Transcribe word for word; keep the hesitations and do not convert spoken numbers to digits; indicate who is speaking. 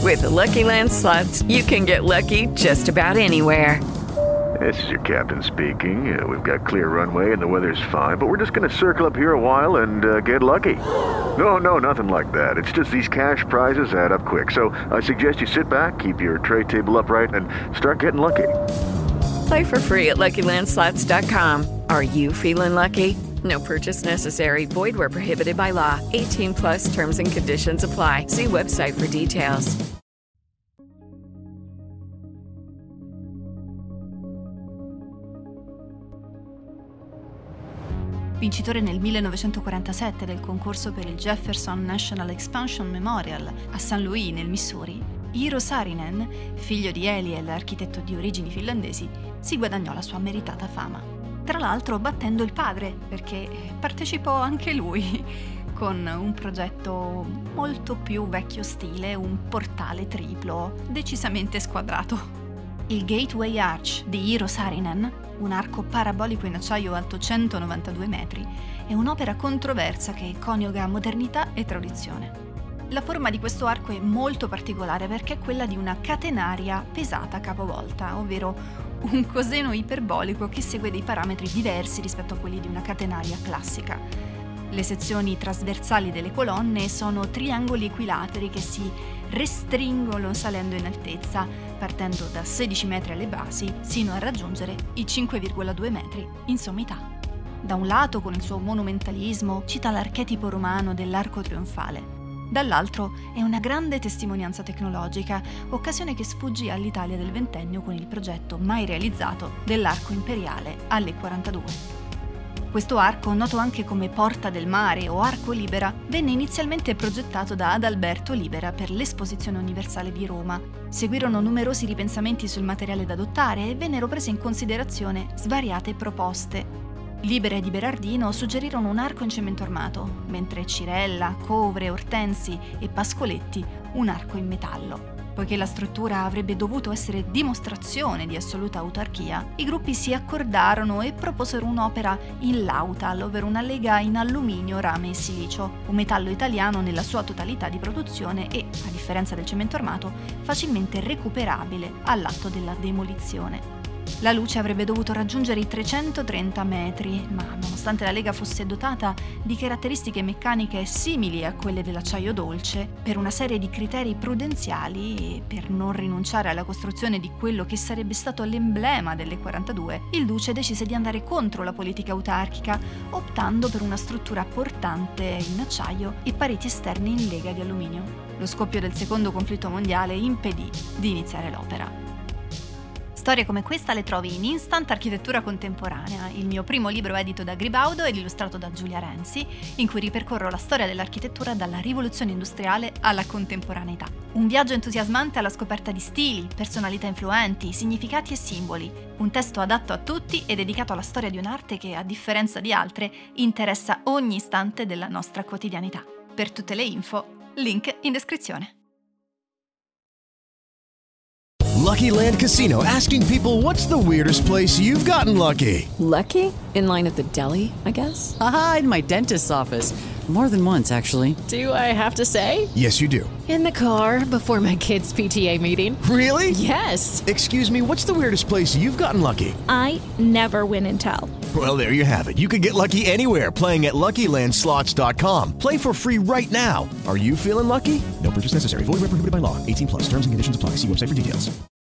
Speaker 1: With the Lucky Land Slots, you can get lucky just about anywhere.
Speaker 2: This is your captain speaking. Uh, we've got clear runway and the weather's fine, but we're just going to circle up here a while and uh, get lucky. No, no, nothing like that. It's just these cash prizes add up quick. So I suggest you sit back, keep your tray table upright, and start getting lucky.
Speaker 1: Play for free at Lucky Land Slots dot com. Are you feeling lucky? No purchase necessary. Void where prohibited by law. eighteen plus terms and conditions apply. See website for details.
Speaker 3: Vincitore nel millenovecentoquarantasette del concorso per il Jefferson National Expansion Memorial a Saint Louis, nel Missouri, Eero Saarinen, figlio di Eliel, architetto di origini finlandesi, si guadagnò la sua meritata fama. Tra l'altro battendo il padre, perché partecipò anche lui con un progetto molto più vecchio stile, un portale triplo decisamente squadrato. Il Gateway Arch di Eero Saarinen, un arco parabolico in acciaio alto centonovantadue metri, è un'opera controversa che coniuga modernità e tradizione. La forma di questo arco è molto particolare perché è quella di una catenaria pesata capovolta, ovvero un coseno iperbolico che segue dei parametri diversi rispetto a quelli di una catenaria classica. Le sezioni trasversali delle colonne sono triangoli equilateri che si restringono salendo in altezza, partendo da sedici metri alle basi sino a raggiungere i cinque virgola due metri in sommità. Da un lato, con il suo monumentalismo, cita l'archetipo romano dell'arco trionfale. Dall'altro è una grande testimonianza tecnologica, occasione che sfuggì all'Italia del ventennio con il progetto mai realizzato dell'arco imperiale alle quarantadue. Questo arco, noto anche come Porta del Mare o Arco Libera, venne inizialmente progettato da Adalberto Libera per l'Esposizione Universale di Roma. Seguirono numerosi ripensamenti sul materiale da adottare e vennero prese in considerazione svariate proposte. Libera e Di Berardino suggerirono un arco in cemento armato, mentre Cirella, Covre, Ortensi e Pascoletti un arco in metallo. Poiché la struttura avrebbe dovuto essere dimostrazione di assoluta autarchia, i gruppi si accordarono e proposero un'opera in lautal, ovvero una lega in alluminio, rame e silicio, un metallo italiano nella sua totalità di produzione e, a differenza del cemento armato, facilmente recuperabile all'atto della demolizione. La luce avrebbe dovuto raggiungere i trecentotrenta metri, ma nonostante la lega fosse dotata di caratteristiche meccaniche simili a quelle dell'acciaio dolce, per una serie di criteri prudenziali e per non rinunciare alla costruzione di quello che sarebbe stato l'emblema delle quarantadue, il duce decise di andare contro la politica autarchica, optando per una struttura portante in acciaio e pareti esterne in lega di alluminio. Lo scoppio del secondo conflitto mondiale impedì di iniziare l'opera. Storie come questa le trovi in Instant Architettura Contemporanea, il mio primo libro edito da Gribaudo ed illustrato da Giulia Renzi, in cui ripercorro la storia dell'architettura dalla rivoluzione industriale alla contemporaneità. Un viaggio entusiasmante alla scoperta di stili, personalità influenti, significati e simboli. Un testo adatto a tutti e dedicato alla storia di un'arte che, a differenza di altre, interessa ogni istante della nostra quotidianità. Per tutte le info, link in descrizione.
Speaker 4: Lucky Land Casino, asking people, what's the weirdest place you've gotten lucky?
Speaker 5: Lucky? In line at the deli, I guess?
Speaker 6: Aha, in my dentist's office. More than once, actually.
Speaker 5: Do I have to say?
Speaker 4: Yes, you do.
Speaker 5: In the car before my kids' P T A meeting.
Speaker 4: Really?
Speaker 5: Yes.
Speaker 4: Excuse me, what's the weirdest place you've gotten lucky?
Speaker 7: I never win and tell.
Speaker 4: Well, there you have it. You can get lucky anywhere, playing at Lucky Land Slots dot com. Play for free right now. Are you feeling lucky? No purchase necessary. Void where prohibited by law. eighteen plus. Terms and conditions apply. See website for details.